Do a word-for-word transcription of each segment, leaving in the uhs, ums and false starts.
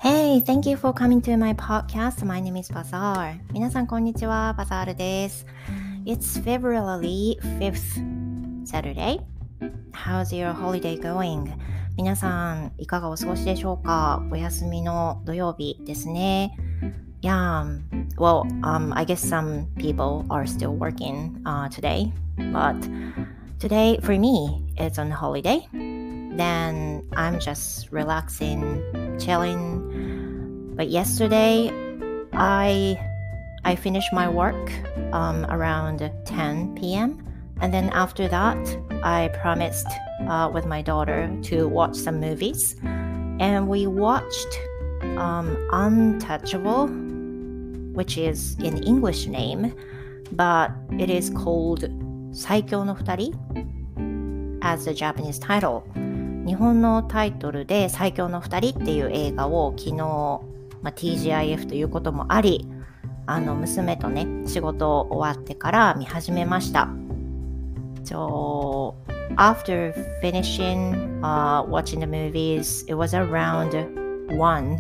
Hey, thank you for coming to my podcast. My name is Bazaar. 皆さんこんにちは、バザールです。It's February fifth, Saturday. How's your holiday going? 皆さんいかがお過ごしでしょうか？お休みの土曜日ですね。Yeah, well, um, I guess some people are still working uh, today, but today for me, it's on holiday.Then I'm just relaxing, chilling. But yesterday, I I finished my work um, around ten p.m. And then after that, I promised uh, with my daughter to watch some movies. And we watched um, Untouchable, which is an English name, but it is called 最強の二人 as the Japanese title.日本のタイトルで最強の二人っていう映画を昨日、まあ、ティージーアイエフ ということもあり、あの娘とね仕事終わってから見始めました。So after finishing、uh, watching the movies, it was around one.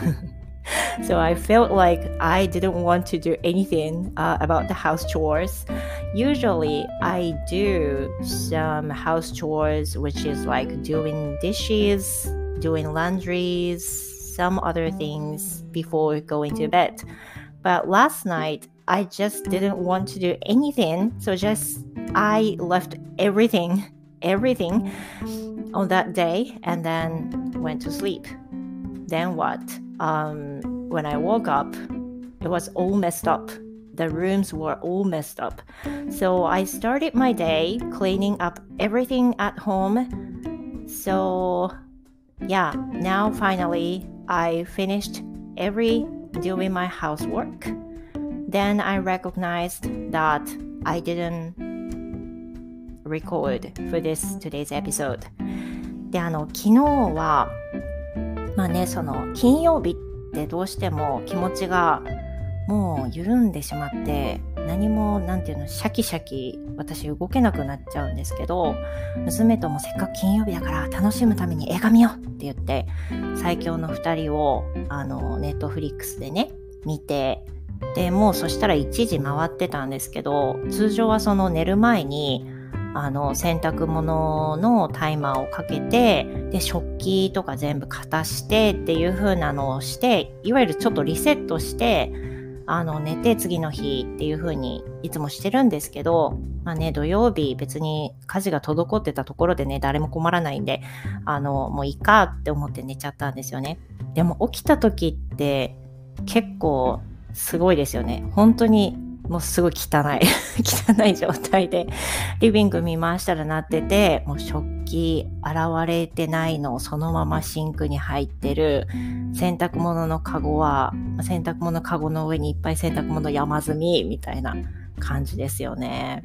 So I felt like I didn't want to do anything、uh, about the house chores.Usually, I do some house chores, which is like doing dishes, doing laundries, some other things before going to bed. But last night, I just didn't want to do anything. So just, I left everything, everything on that day and then went to sleep. Then what? Um, when I woke up, it was all messed up.The rooms were all messed up. So I started my day cleaning up everything at home. So yeah, now finally I finished every doing my housework. Then I recognized that I didn't record for this today's episode. で、あの昨日はまあね、その金曜日ってどうしても気持ちがもう緩んでしまって何もなんていうのシャキシャキ私動けなくなっちゃうんですけど、娘ともせっかく金曜日だから楽しむために映画見ようって言って最強の二人をあのネットフリックスでね見て、でもうそしたらいちじ回ってたんですけど、通常はその寝る前にあの洗濯物のタイマーをかけて、で食器とか全部片してっていう風なのをして、いわゆるちょっとリセットしてあの寝て次の日っていう風にいつもしてるんですけど、まあね土曜日別に家事が滞ってたところでね誰も困らないんで、あのもういいかって思って寝ちゃったんですよね。でも起きた時って結構すごいですよね。本当にもうすごい汚い汚い状態でリビング見回したらなってて、もう食器洗われてないのをそのままシンクに入ってる、洗濯物のカゴは洗濯物カゴの上にいっぱい洗濯物山積みみたいな感じですよね。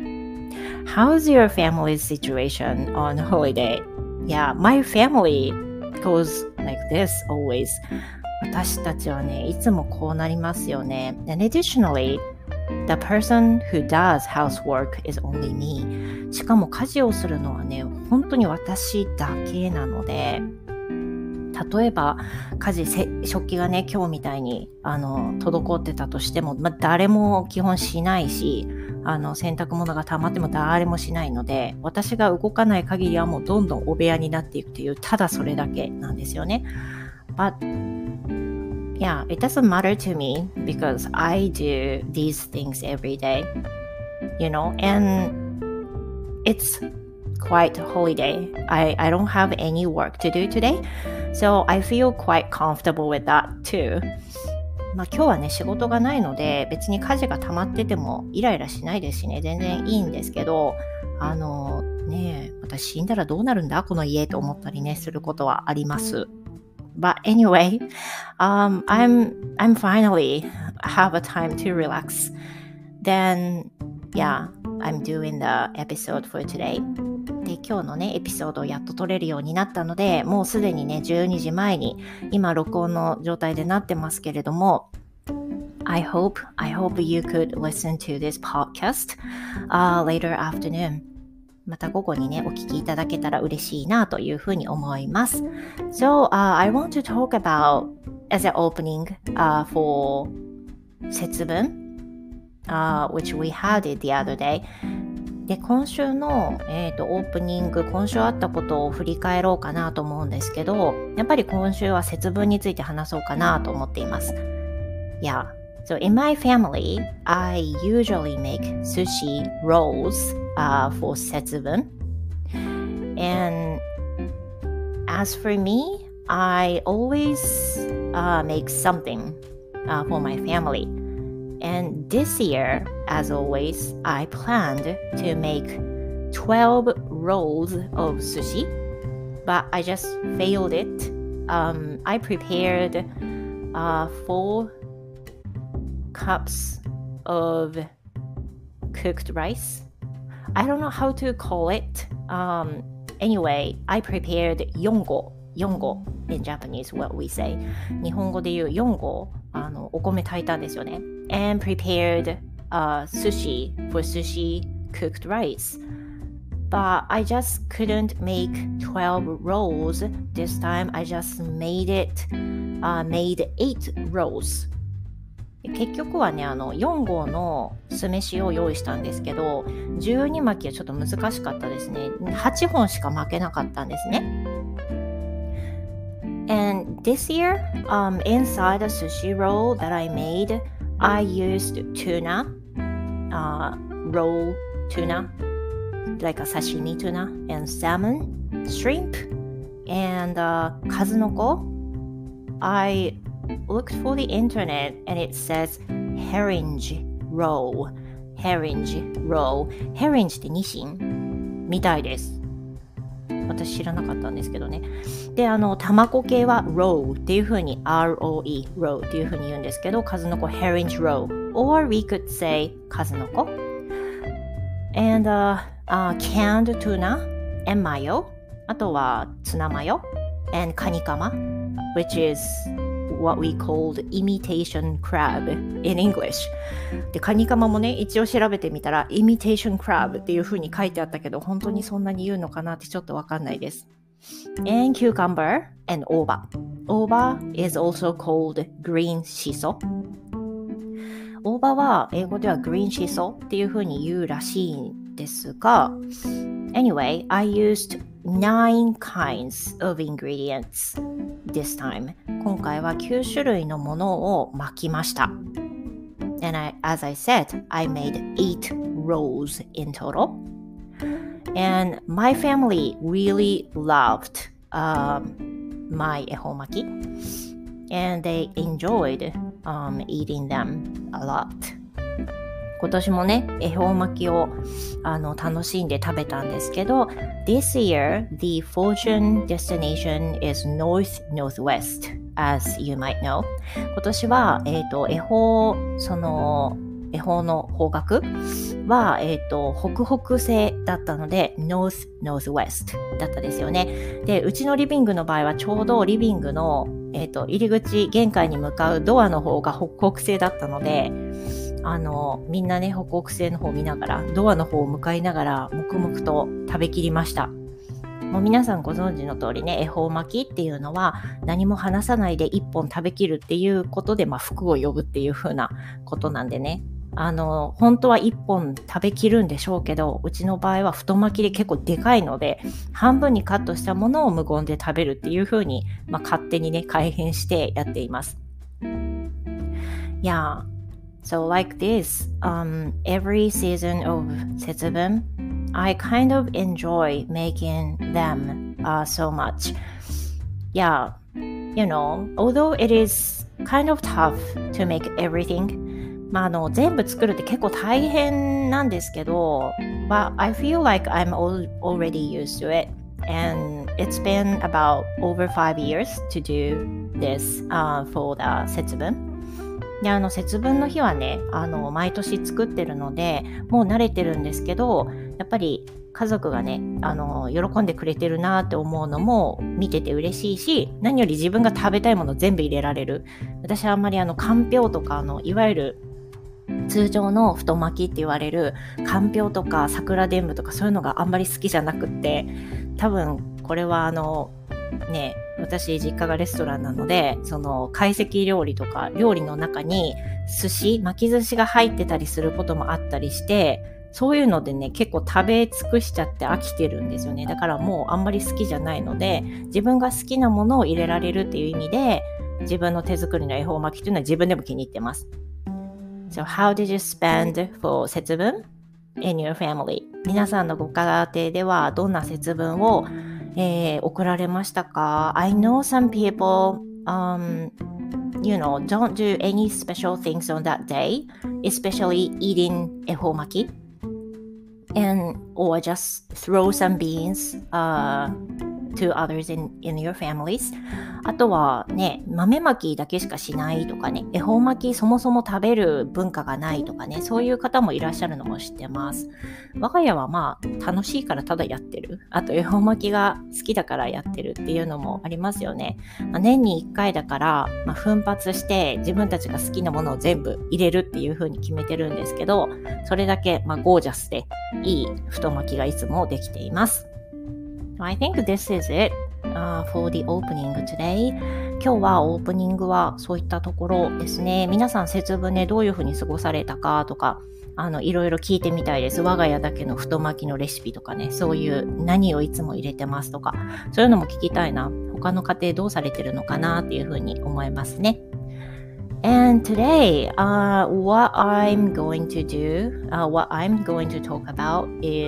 How's your family's situation on holiday? Yeah, my family goes like this always. 私たちはねいつもこうなりますよね。 And additionally The person who does housework is only me. しかも家事をするのはね、本当に私だけなので、例えば家事せ食器がね今日みたいにあの滞ってたとしても、まあ、誰も基本しないし、あの洗濯物が溜まっても誰もしないので、私が動かない限りはもうどんどんお部屋になっていくという、ただそれだけなんですよね。But Yeah, it doesn't matter to me because I do these things every day, you know, and it's quite holiday. I, I don't have any work to do today, so I feel quite comfortable with that too. まあ今日はね仕事がないので別に家事が溜まっててもイライラしないですしね、全然いいんですけど、あのね私死んだらどうなるんだこの家と思ったりねすることはあります。But anyway, um, I'm I'm finally have a time to relax. Then, yeah, I'm doing the episode for today. で、今日のねエピソードをやっと撮れるようになったので、もうすでにねじゅうにじまえに今録音の状態でなってますけれども、I hope I hope you could listen to this podcast、uh, later afternoon.また午後にねお聞きいただけたら嬉しいなというふうに思います。So、uh, I want to talk about as an opening uh, for 節分、uh, which we had it the other day。で、今週の、えーと、オープニング、今週あったことを振り返ろうかなと思うんですけど、やっぱり今週は節分について話そうかなと思っています。Yeah. So in my family, I usually make sushi rolls uh, for 節分。And as for me, I always uh, make something uh, for my family.And this year, as always, I planned to make twelve rolls of sushi, but I just failed it. Um, I prepared uh, four cups of cooked rice. I don't know how to call it. Um, anyway, I prepared yongo. Yongo in Japanese, what we say. 日本語で言うよん合、あのお米炊いたんですよね。And prepared uh, sushi for sushi cooked rice. But I just couldn't make twelve rolls. This time I just made it, uh, made eight rolls. 結局はね、あのよん合の酢飯を用意したんですけど、じゅうに巻きはちょっと難しかったですね。はっぽんしか巻けなかったんですね。And this year, um, inside the sushi roll that I made, I used tuna, uh, raw tuna, like a sashimi tuna, and salmon, shrimp, and uh, kazunoko. I looked for the internet and it says herring roll, herring roll. herring ってニシンみたいです。私知らなかったんですけどね。で、あの卵系は row っていう風に ロー row っていう風に言うんですけど、数の子 herring row or we could say 数の子 and、uh, uh, canned tuna and mayo あとはツナマヨ and カニカマ which is what we called imitation crab in English。 で、カニカマもね、一応調べてみたら imitation crab っていう風に書いてあったけど、本当にそんなに言うのかなってちょっとわかんないです。And cucumber and 大葉。大葉 is also called green shiso。 大葉は英語では green shiso っていう風に言うらしいんですが、 Anyway, I used nine kinds of ingredients this time。 今回はきゅう種類のものを巻きました。 And I, as I said, I made eight rolls in total. And my family really loved um, my 恵方巻き and they enjoyed um, eating them a lot。 今年もね、恵方巻きをあの楽しんで食べたんですけど、 This year, the fortune destination is north-northwest, as you might know。 今年は、えーと、恵方、その恵方の方角は、えーと、北北西だったので North Northwest だったですよね。で、うちのリビングの場合はちょうどリビングの、えーと、入り口玄関に向かうドアの方が北北西だったので、あのみんなね、北北西の方を見ながらドアの方を向かいながら黙々と食べきりました。もう皆さんご存知の通りね、恵方巻きっていうのは何も話さないで一本食べきるっていうことで、まあ、福を呼ぶっていう風なことなんでね、あの本当は一本食べきるんでしょうけど、うちの場合は太巻きで結構でかいので、半分にカットしたものを無言で食べるっていう風に、まあ、勝手にね改変してやっています。Yeah, so like this, um, every season of 節分 I kind of enjoy making them uh, so much. Yeah, you know, although it is kind of tough to make everything, まあ、あの全部作るって結構大変なんですけど、but I feel like I'm all, already used to it, and it's been about over five years to do this、uh, for the 節分。で、あの節分の日はね、あの毎年作ってるのでもう慣れてるんですけど、やっぱり家族がね、あの喜んでくれてるなって思うのも見てて嬉しいし、何より自分が食べたいもの全部入れられる。私はあんまりあのかんぴょうとか、あのいわゆる通常の太巻きって言われるかんぴょうとか桜でんぶとかそういうのがあんまり好きじゃなくって、多分これはあのね、私実家がレストランなので、その懐石料理とか料理の中に寿司、巻き寿司が入ってたりすることもあったりして、そういうのでね、結構食べ尽くしちゃって飽きてるんですよね。だからもうあんまり好きじゃないので、自分が好きなものを入れられるっていう意味で、自分の手作りの恵方巻きっていうのは自分でも気に入ってます。So how did you spend for 節分 in your family? 皆さんのご家庭ではどんな節分を、えー、送られましたか？ I know some people, um, you know, don't do any special things on that day, especially eating 恵方巻き and or just throw some beans uh, to others in, in your families. あとはね、豆まきだけしかしないとかね、恵方巻きそもそも食べる文化がないとかね、そういう方もいらっしゃるのも知ってます。我が家はまあ楽しいからただやってる。あと恵方巻きが好きだからやってるっていうのもありますよね。まあ、年にいっかいだから、まあ、奮発して自分たちが好きなものを全部入れるっていう風に決めてるんですけど、それだけまあゴージャスでいい太巻きがいつもできています。I think this is it、uh, for the opening today. 今日はオープニングはそういったところですね。皆さん節分ね、どういうふうに過ごされたかとか、あのいろいろ聞いてみたいです。我が家だけの太巻きのレシピとかね、そういう何をいつも入れてますとか、そういうのも聞きたいな。他の家庭どうされてるのかなっていうふうに思いますね。And today,、uh, what I'm going to do,、uh, what I'm going to talk about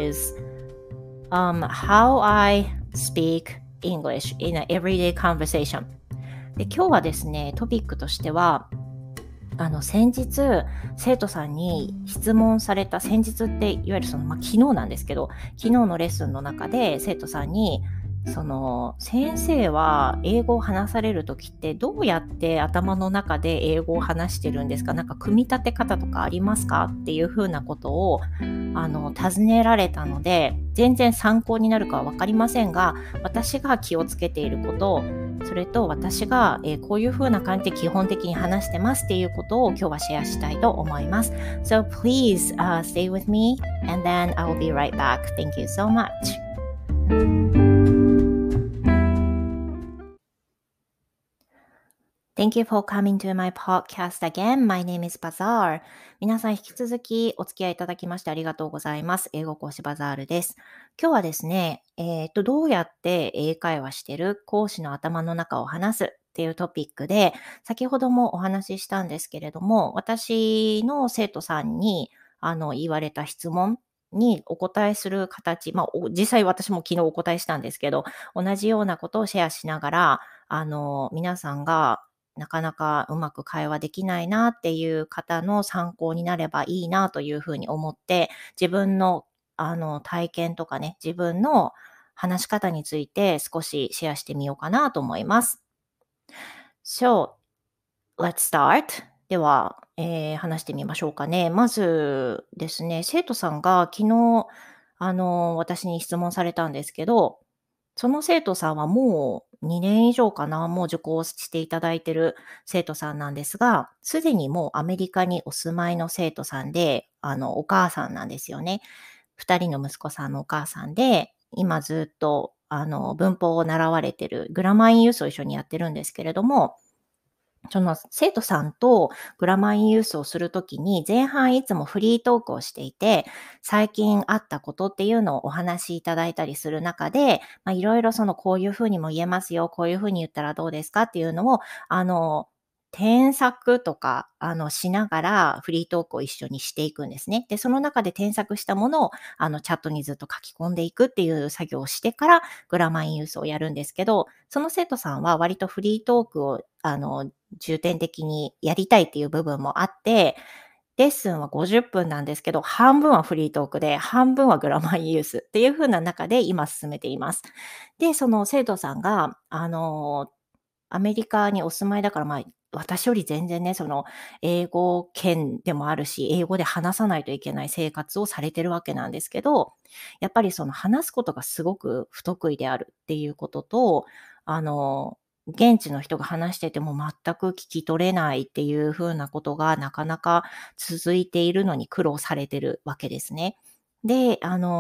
is、um, how I speak English in an everyday conversation. で、今日はですね、トピックとしては、あの先日生徒さんに質問された、先日っていわゆるその、まあ、昨日なんですけど、昨日のレッスンの中で生徒さんに、その先生は英語を話されるときってどうやって頭の中で英語を話してるんですか？なんか組み立て方とかありますか？っていうふうなことをあの尋ねられたので、全然参考になるかは分かりませんが、私が気をつけていること、それと私が、えー、こういうふうな感じで基本的に話してますっていうことを今日はシェアしたいと思います。So please、uh, stay with me and then I'll be right back. Thank you so much.Thank you for coming to my podcast again. My name is Bazaar. 皆さん引き続きお付き合いいただきましてありがとうございます。英語講師バザールです。今日はですね、えーと、どうやって英会話してる講師の頭の中を話すっていうトピックで、先ほどもお話ししたんですけれども、私の生徒さんにあの言われた質問にお答えする形、まあ、実際私も昨日お答えしたんですけど、同じようなことをシェアしながら、あの皆さんがなかなかうまく会話できないなっていう方の参考になればいいなというふうに思って、自分のあの体験とかね、自分の話し方について少しシェアしてみようかなと思います。So, let's start. では、えー話してみましょうかね。まずですね、生徒さんが昨日、あの、私に質問されたんですけど、その生徒さんはもうにねん以上かな、もう受講していただいている生徒さんなんですが、すでにもうアメリカにお住まいの生徒さんで、あの、お母さんなんですよね。ふたりの息子さんのお母さんで、今ずっと、あの、文法を習われてる、グラマーインユースを一緒にやってるんですけれども、その生徒さんとグラマーインユースをするときに、前半いつもフリートークをしていて、最近あったことっていうのをお話しいただいたりする中で、まあ、いろいろそのこういうふうにも言えますよ、こういうふうに言ったらどうですかっていうのを、あの、添削とか、あの、しながらフリートークを一緒にしていくんですね。で、その中で添削したものを、あの、チャットにずっと書き込んでいくっていう作業をしてから、グラマーインユースをやるんですけど、その生徒さんは割とフリートークを、あの、重点的にやりたいっていう部分もあって、レッスンはごじゅっぷんなんですけど、半分はフリートークで、半分はグラマーインユースっていう風な中で今進めています。で、その生徒さんが、あの、アメリカにお住まいだから、まあ、私より全然ね、その、英語圏でもあるし、英語で話さないといけない生活をされてるわけなんですけど、やっぱりその話すことがすごく不得意であるっていうことと、あの、現地の人が話してても全く聞き取れないっていう風なことがなかなか続いているのに苦労されてるわけですね。で、あの、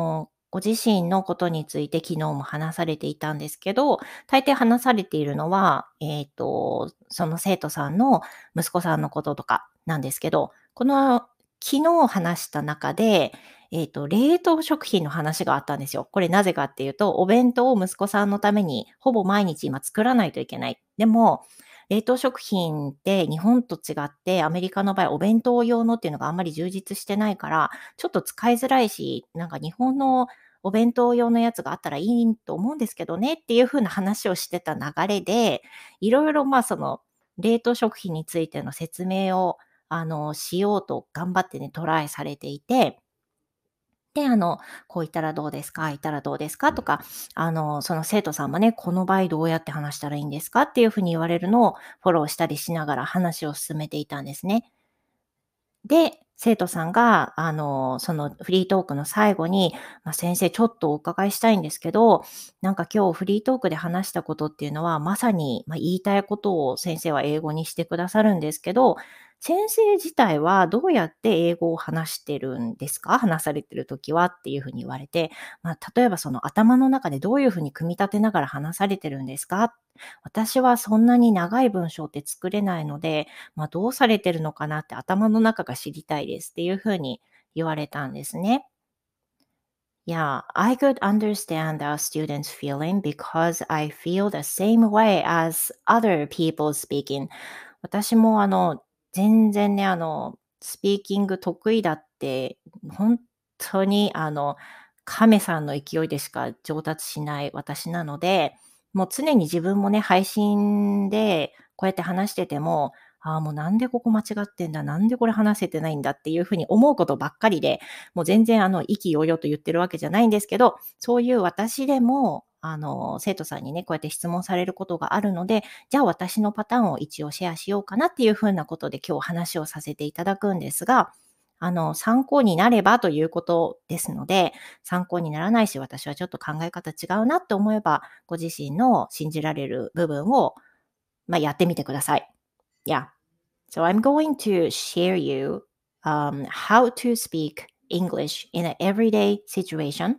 ご自身のことについて昨日も話されていたんですけど、大抵話されているのは、えっと、その生徒さんの息子さんのこととかなんですけど、この昨日話した中で、えっと、冷凍食品の話があったんですよ。これなぜかっていうと、お弁当を息子さんのためにほぼ毎日今作らないといけない。でも、冷凍食品って日本と違って、アメリカの場合お弁当用のっていうのがあんまり充実してないから、ちょっと使いづらいし、なんか日本のお弁当用のやつがあったらいいと思うんですけどねっていう風な話をしてた流れで、いろいろまあその冷凍食品についての説明をあのしようと頑張ってね、トライされていて、で、あの、こう言ったらどうですか、ああ言ったらどうですかとか、あの、その生徒さんもね、この場合どうやって話したらいいんですかっていう風に言われるのをフォローしたりしながら話を進めていたんですね。で、生徒さんが、あの、そのフリートークの最後に、まあ、先生ちょっとお伺いしたいんですけど、なんか今日フリートークで話したことっていうのは、まさに、まあ、言いたいことを先生は英語にしてくださるんですけど、先生自体はどうやって英語を話してるんですか？話されてる時はっていうふうに言われて、まあ、例えばその頭の中でどういうふうに組み立てながら話されてるんですか？私はそんなに長い文章って作れないので、まあ、どうされてるのかなって頭の中が知りたいですっていう風に言われたんですね。Yeah, I could understand our students' feeling because I feel the same way as other people speaking. 私もあの、全然ね、あの、スピーキング得意だって、本当にあの、亀さんの勢いでしか上達しない私なので、もう常に自分もね、配信でこうやって話してても、ああ、もうなんでここ間違ってんだ、なんでこれ話せてないんだっていうふうに思うことばっかりで、もう全然あの、意気揚々と言ってるわけじゃないんですけど、そういう私でも、あの、生徒さんにね、こうやって質問されることがあるので、じゃあ私のパターンを一応シェアしようかなっていうふうなことで今日話をさせていただくんですが、あの、参考になればということですので、参考にならないし、私はちょっと考え方違うなって思えば、ご自身の信じられる部分を、まあ、やってみてください。Yeah. So I'm going to share you um, how to speak English in an everyday situation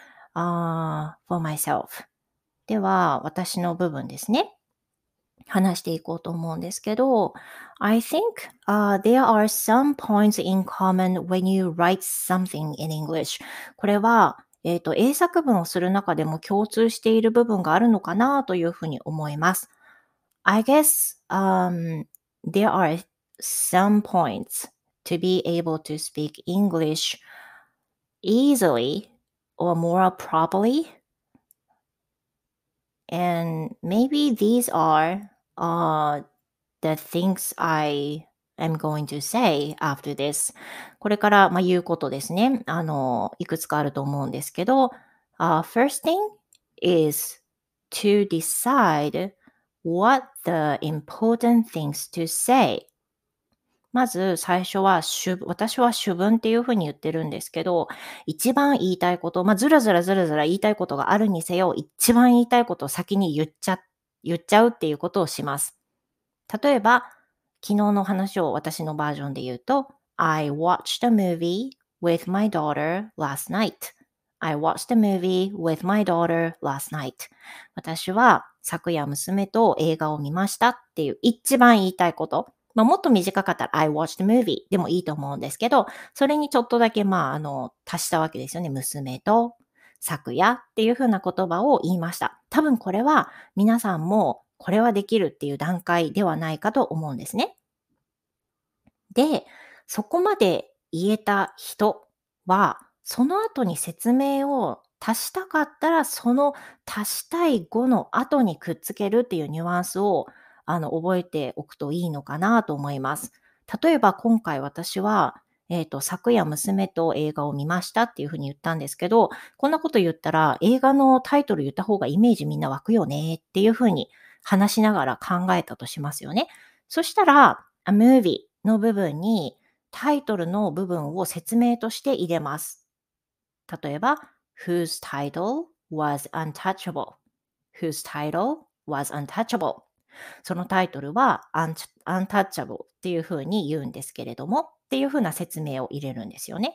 uh, for myself. では、私の部分ですね。話していこうと思うんですけど、I think uh, there are some points in common when you write something in English. これは、えっと、英作文をする中でも共通している部分があるのかなというふうに思います。I guess um, there are some points to be able to speak English easily or more properly. And maybe these are uh, the things I am going to say after this. これから、まあ、言うことですね。あの、いくつかあると思うんですけど、uh, first thing is to decide what the important things to say. まず最初は主私は主文っていうふうに言ってるんですけど、一番言いたいこと、まあ、ずらずらずらずら言いたいことがあるにせよ、一番言いたいことを先に言っちゃ言っちゃうっていうことをします。例えば、昨日の話を私のバージョンで言うと、I watched a movie with my daughter last night. I watched a movie with my daughter last night. 私は昨夜娘と映画を見ましたっていう一番言いたいこと。まあ、もっと短かったら I watched a movie でもいいと思うんですけど、それにちょっとだけまあ、あの、足したわけですよね。娘と昨夜っていう風な言葉を言いました。多分これは皆さんもこれはできるっていう段階ではないかと思うんですね。で、そこまで言えた人は、その後に説明を足したかったら、その足したい語の後にくっつけるっていうニュアンスを、あの、覚えておくといいのかなと思います。例えば今回私は、えっと、昨夜娘と映画を見ましたっていうふうに言ったんですけど、こんなこと言ったら映画のタイトル言った方がイメージみんな湧くよねっていうふうに話しながら考えたとしますよね。そしたら、a movie の部分にタイトルの部分を説明として入れます。例えば、whose title was untouchable. whose title was untouchable. そのタイトルは untouchable っていうふうに言うんですけれども、っていうふうな説明を入れるんですよね。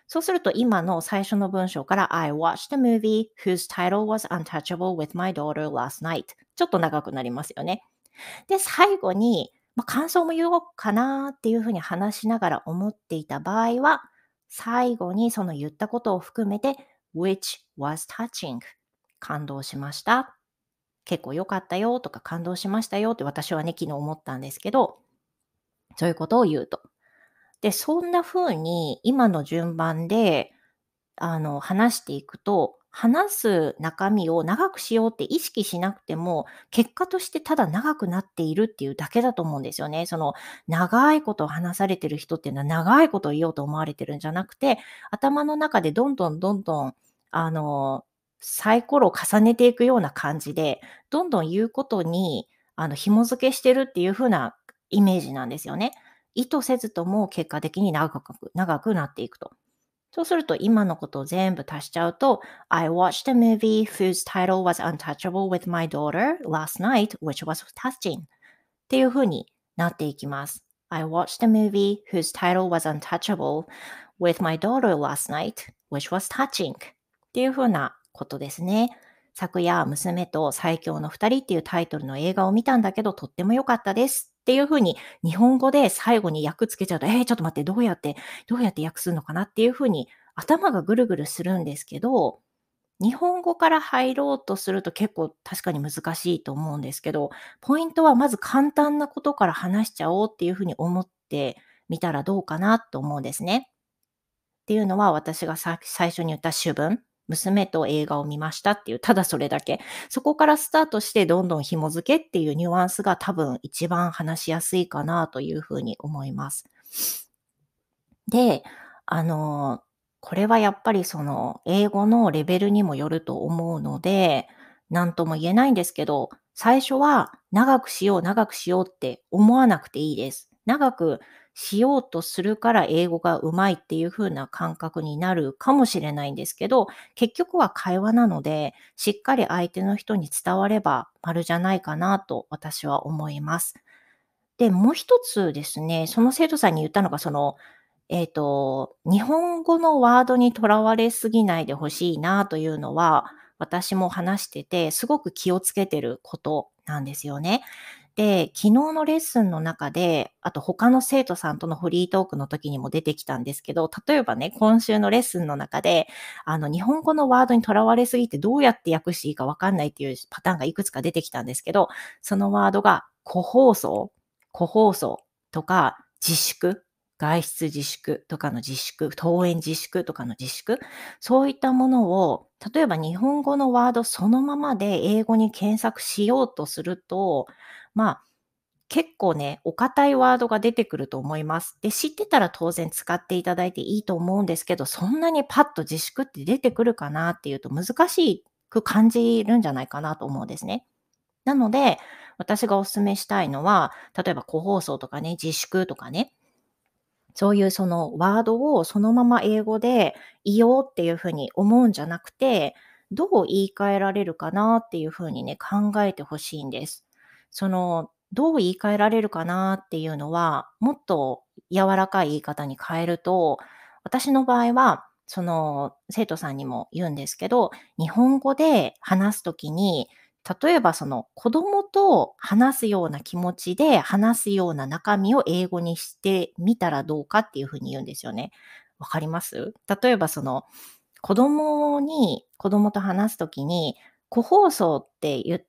そうすると今の最初の文章から I watched a movie whose title was untouchable with my daughter last night. ちょっと長くなりますよね。で、最後に、まあ、感想も言おうかなっていうふうに話しながら思っていた場合は、最後にその言ったことを含めて which was touching 感動しました。結構良かったよとか感動しましたよって私はね、昨日思ったんですけど、そういうことを言うと。で、そんな風に今の順番であの、話していくと、話す中身を長くしようって意識しなくても、結果としてただ長くなっているっていうだけだと思うんですよね。その、長いことを話されてる人っていうのは長いことを言おうと思われてるんじゃなくて、頭の中でどんどんどんどん、あの、サイコロを重ねていくような感じで、どんどん言うことに、あの、紐付けしてるっていう風なイメージなんですよね。意図せずとも結果的に長く長くなっていくと。そうすると今のことを全部足しちゃうと、I watched a movie whose title was untouchable with my daughter last night, which was touching っていう風になっていきます。I watched a movie whose title was untouchable with my daughter last night, which was touching っていう風なことですね。昨夜、娘と最強の二人っていうタイトルの映画を見たんだけど、とっても良かったですっていう風に日本語で最後に訳つけちゃうと、えー、ちょっと待って、どうやって、どうやって訳すのかなっていう風に頭がぐるぐるするんですけど、日本語から入ろうとすると結構確かに難しいと思うんですけど、ポイントはまず簡単なことから話しちゃおうっていう風に思ってみたらどうかなと思うんですね。っていうのは私がさ最初に言った主文、娘と映画を見ましたっていう、ただそれだけ。そこからスタートしてどんどん紐付けっていうニュアンスが多分一番話しやすいかなというふうに思います。で、あの、これはやっぱりその英語のレベルにもよると思うので、なんとも言えないんですけど、最初は長くしよう長くしようって思わなくていいです。長くしようとするから英語が上手いっていう風な感覚になるかもしれないんですけど、結局は会話なので、しっかり相手の人に伝われば丸じゃないかなと私は思います。で、もう一つですね、その生徒さんに言ったのが、その、えっと、日本語のワードにとらわれすぎないでほしいなというのは、私も話してて、すごく気をつけてることなんですよね。で、昨日のレッスンの中で、あと他の生徒さんとのフリートークの時にも出てきたんですけど、例えばね、今週のレッスンの中で、あの、日本語のワードにとらわれすぎてどうやって訳していいかわかんないっていうパターンがいくつか出てきたんですけど、そのワードが個包装個包装とか自粛、外出自粛とかの自粛、登園自粛とかの自粛、そういったものを、例えば日本語のワードそのままで英語に検索しようとすると、まあ、結構ね、お堅いワードが出てくると思います。で、知ってたら当然使っていただいていいと思うんですけど、そんなにパッと自粛って出てくるかなっていうと難しく感じるんじゃないかなと思うんですね。なので、私がお勧めしたいのは、例えば個包装とかね、自粛とかね、そういうそのワードをそのまま英語で言おうっていうふうに思うんじゃなくて、どう言い換えられるかなっていうふうにね、考えてほしいんです。その、どう言い換えられるかなっていうのは、もっと柔らかい言い方に変えると、私の場合は、その生徒さんにも言うんですけど、日本語で話すときに、例えばその子供と話すような気持ちで話すような中身を英語にしてみたらどうかっていうふうに言うんですよね。わかります？例えばその子供に子供と話すときに、個包装って言って、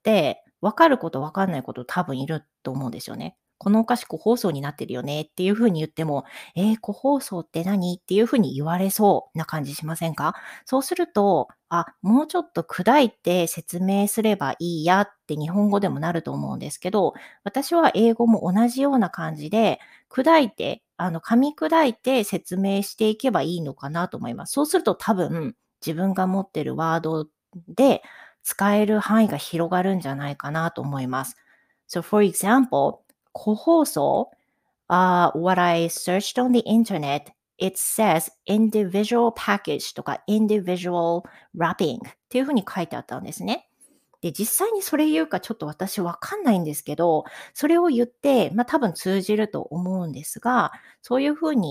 分かること分かんないこと多分いると思うんですよね。このお菓子個包装になってるよねっていう風に言っても、えー、個包装って何っていう風に言われそうな感じしませんか？そうすると、あ、もうちょっと砕いて説明すればいいやって日本語でもなると思うんですけど、私は英語も同じような感じで、砕いて、あの、噛み砕いて説明していけばいいのかなと思います。そうすると多分、自分が持ってるワードで使える範囲が広がるんじゃないかなと思います。So for example, 個包装 uh, what I searched on the internet, it says individual package とか individual wrapping っていうふうに書いてあったんですね。で、実際にそれ言うかちょっと私わかんないんですけど、それを言って、ま、多分通じると思うんですが、そういう風に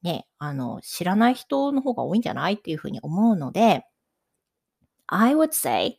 ね、あの、知らない人の方が多いんじゃないっていうふうに思うので、I would say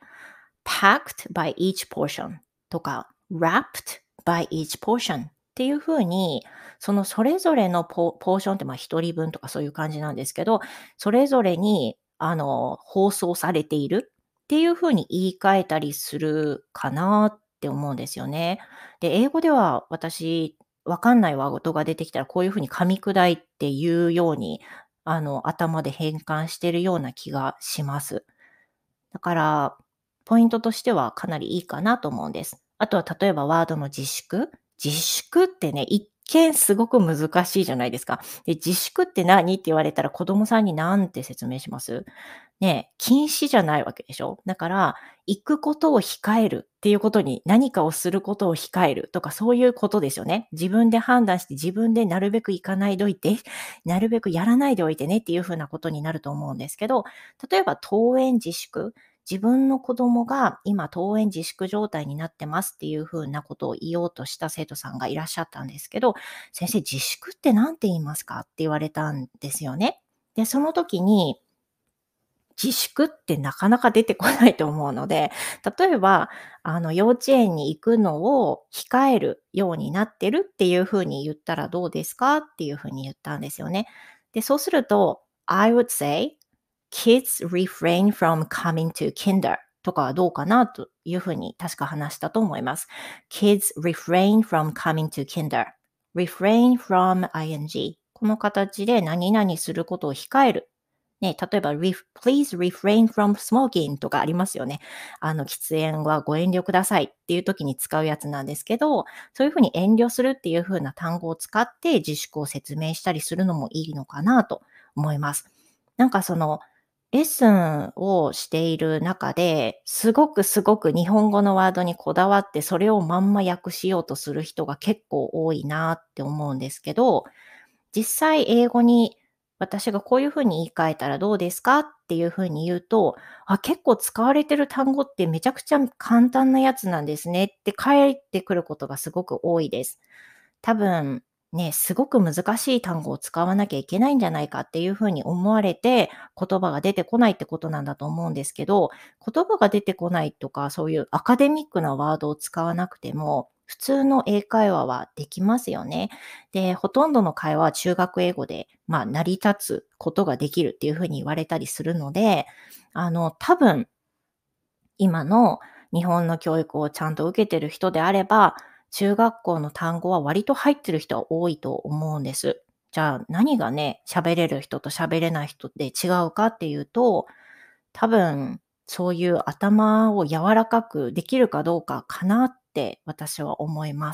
packed by each portion とか wrapped by each portion っていう風に、そのそれぞれのポポーションってまあ一人分とかそういう感じなんですけど、それぞれにあの包装されているっていう風に言い換えたりするかなって思うんですよね。で、英語では私、わかんないワードが出てきたらこういう風に噛み砕いて言うように、あの頭で変換してるような気がします。だから、ポイントとしてはかなりいいかなと思うんです。あとは例えばワードの自粛。自粛ってね、一見すごく難しいじゃないですか。で、自粛って何って言われたら子供さんに何て説明します？ね、禁止じゃないわけでしょ。だから、行くことを控えるっていうことに、何かをすることを控えるとかそういうことですよね。自分で判断して自分でなるべく行かないでおいて、なるべくやらないでおいてねっていう風なことになると思うんですけど、例えば登園自粛。自分の子供が今登園自粛状態になってますっていう風なことを言おうとした生徒さんがいらっしゃったんですけど、先生自粛って何て言いますかって言われたんですよね。で、その時に自粛ってなかなか出てこないと思うので、例えば、あの、幼稚園に行くのを控えるようになってるっていう風に言ったらどうですかっていう風に言ったんですよね。で、そうすると、I would say, kids refrain from coming to kinder とかはどうかなという風に確か話したと思います。kids refrain from coming to kinder. refrain from ing. この形で何々することを控える。ね、例えば、ref please refrain from smoking とかありますよね。あの、喫煙はご遠慮くださいっていう時に使うやつなんですけど、そういうふうに遠慮するっていう風な単語を使って自粛を説明したりするのもいいのかなと思います。なんかその、レッスンをしている中で、すごくすごく日本語のワードにこだわって、それをまんま訳しようとする人が結構多いなって思うんですけど、実際英語に私がこういう風に言い換えたらどうですかっていう風に言うと、あ、結構使われてる単語ってめちゃくちゃ簡単なやつなんですねって返ってくることがすごく多いです。多分、ね、すごく難しい単語を使わなきゃいけないんじゃないかっていう風に思われて、言葉が出てこないってことなんだと思うんですけど、言葉が出てこないとか、そういうアカデミックなワードを使わなくても、普通の英会話はできますよね。で、ほとんどの会話は中学英語で、まあ、成り立つことができるっていう風に言われたりするので、あの、多分今の日本の教育をちゃんと受けてる人であれば、中学校の単語は割と入ってる人は多いと思うんです。じゃあ何がね、喋れる人と喋れない人で違うかっていうと、多分そういう頭を柔らかくできるかどうかかなって私は思います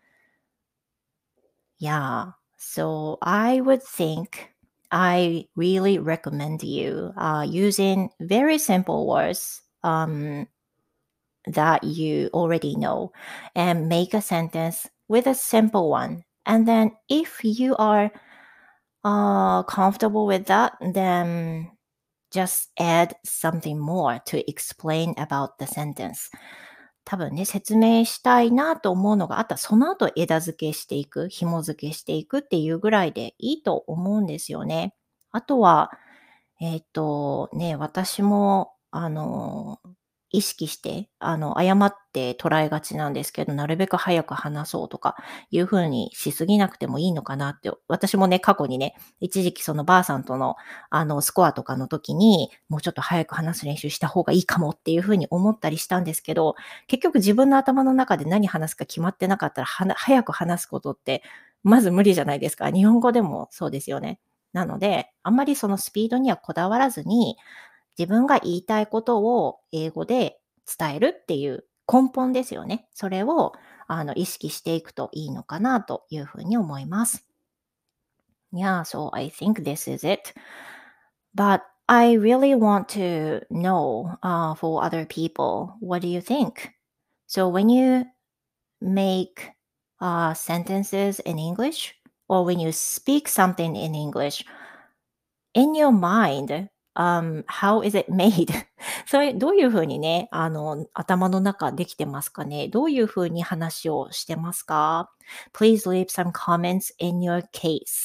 。Yeah. So I would think I really recommend you uh, using very simple words. Um, that you already know and make a sentence with a simple one. And then if you are uh, comfortable with that, then just add something more to explain about the sentence. 多分ね、説明したいなと思うのがあったら、その後枝付けしていく、紐付けしていくっていうぐらいでいいと思うんですよね。あとは、えっと、ね、私も、あの、意識して、あの、誤って捉えがちなんですけど、なるべく早く話そうとかいう風にしすぎなくてもいいのかなって、私もね、過去にね、一時期そのばあさんとの、あの、スコアとかの時に、もうちょっと早く話す練習した方がいいかもっていう風に思ったりしたんですけど、結局自分の頭の中で何話すか決まってなかったら、はな早く話すことって、まず無理じゃないですか。日本語でもそうですよね。なので、あんまりそのスピードにはこだわらずに、自分が言いたいことを英語で伝えるっていう根本ですよね。それをあの意識していくといいのかなというふうに思います。Yeah, so I think this is it. But I really want to know uh, for other people, what do you think? So when you make uh, sentences in English or when you speak something in English, in your mind, um, how is it made? それ、どういう風にね、あの、頭の中できてますかね？どういう風に話をしてますか？ Please leave some comments in your case.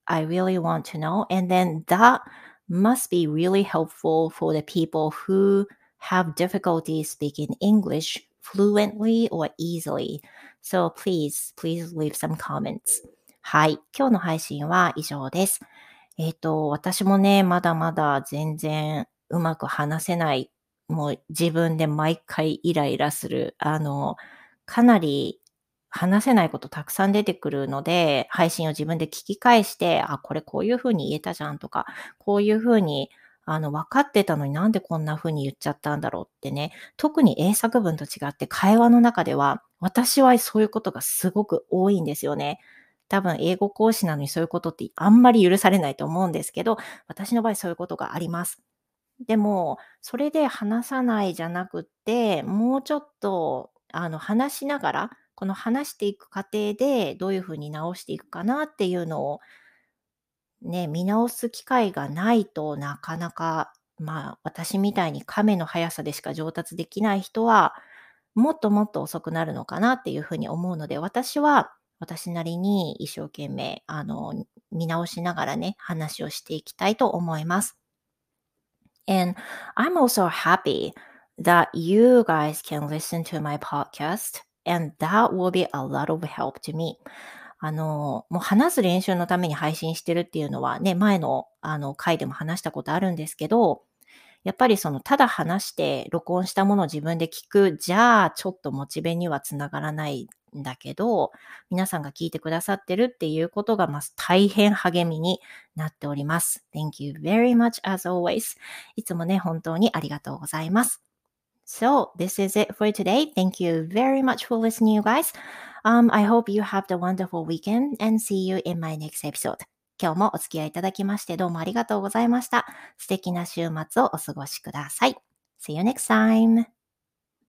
I really want to know. And then that must be really helpful for the people who have difficulty speaking English fluently or easily. So please, please leave some comments. はい。今日の配信は以上です。えっと、私もね、まだまだ全然うまく話せない、もう自分で毎回イライラする、あの、かなり話せないことたくさん出てくるので、配信を自分で聞き返して、あ、これこういう風に言えたじゃんとか、こういう風に、あの、分かってたのになんでこんな風に言っちゃったんだろうってね、特に英作文と違って会話の中では、私はそういうことがすごく多いんですよね。多分英語講師なのにそういうことってあんまり許されないと思うんですけど、私の場合そういうことがあります。でも、それで話さないじゃなくって、もうちょっと、あの、話しながら、この話していく過程でどういうふうに直していくかなっていうのをね、見直す機会がないとなかなか、まあ、私みたいに亀の速さでしか上達できない人は、もっともっと遅くなるのかなっていうふうに思うので、私は私なりに一生懸命、あの、見直しながらね、話をしていきたいと思います。And I'm also happy that you guys can listen to my podcast, and that will be a lot of help to me. あの、もう話す練習のために配信してるっていうのはね、前のあの回でも話したことあるんですけど、やっぱりそのただ話して録音したものを自分で聞く、じゃあちょっとモチベにはつながらないんだけど、皆さんが聞いてくださってるっていうことが、ま、大変励みになっております。Thank you very much as always. いつもね、本当にありがとうございます。So, this is it for today. Thank you very much for listening, you guys. Um, I hope you have the wonderful weekend and see you in my next episode. 今日もお付き合いいただきましてどうもありがとうございました。素敵な週末をお過ごしください。See you next time.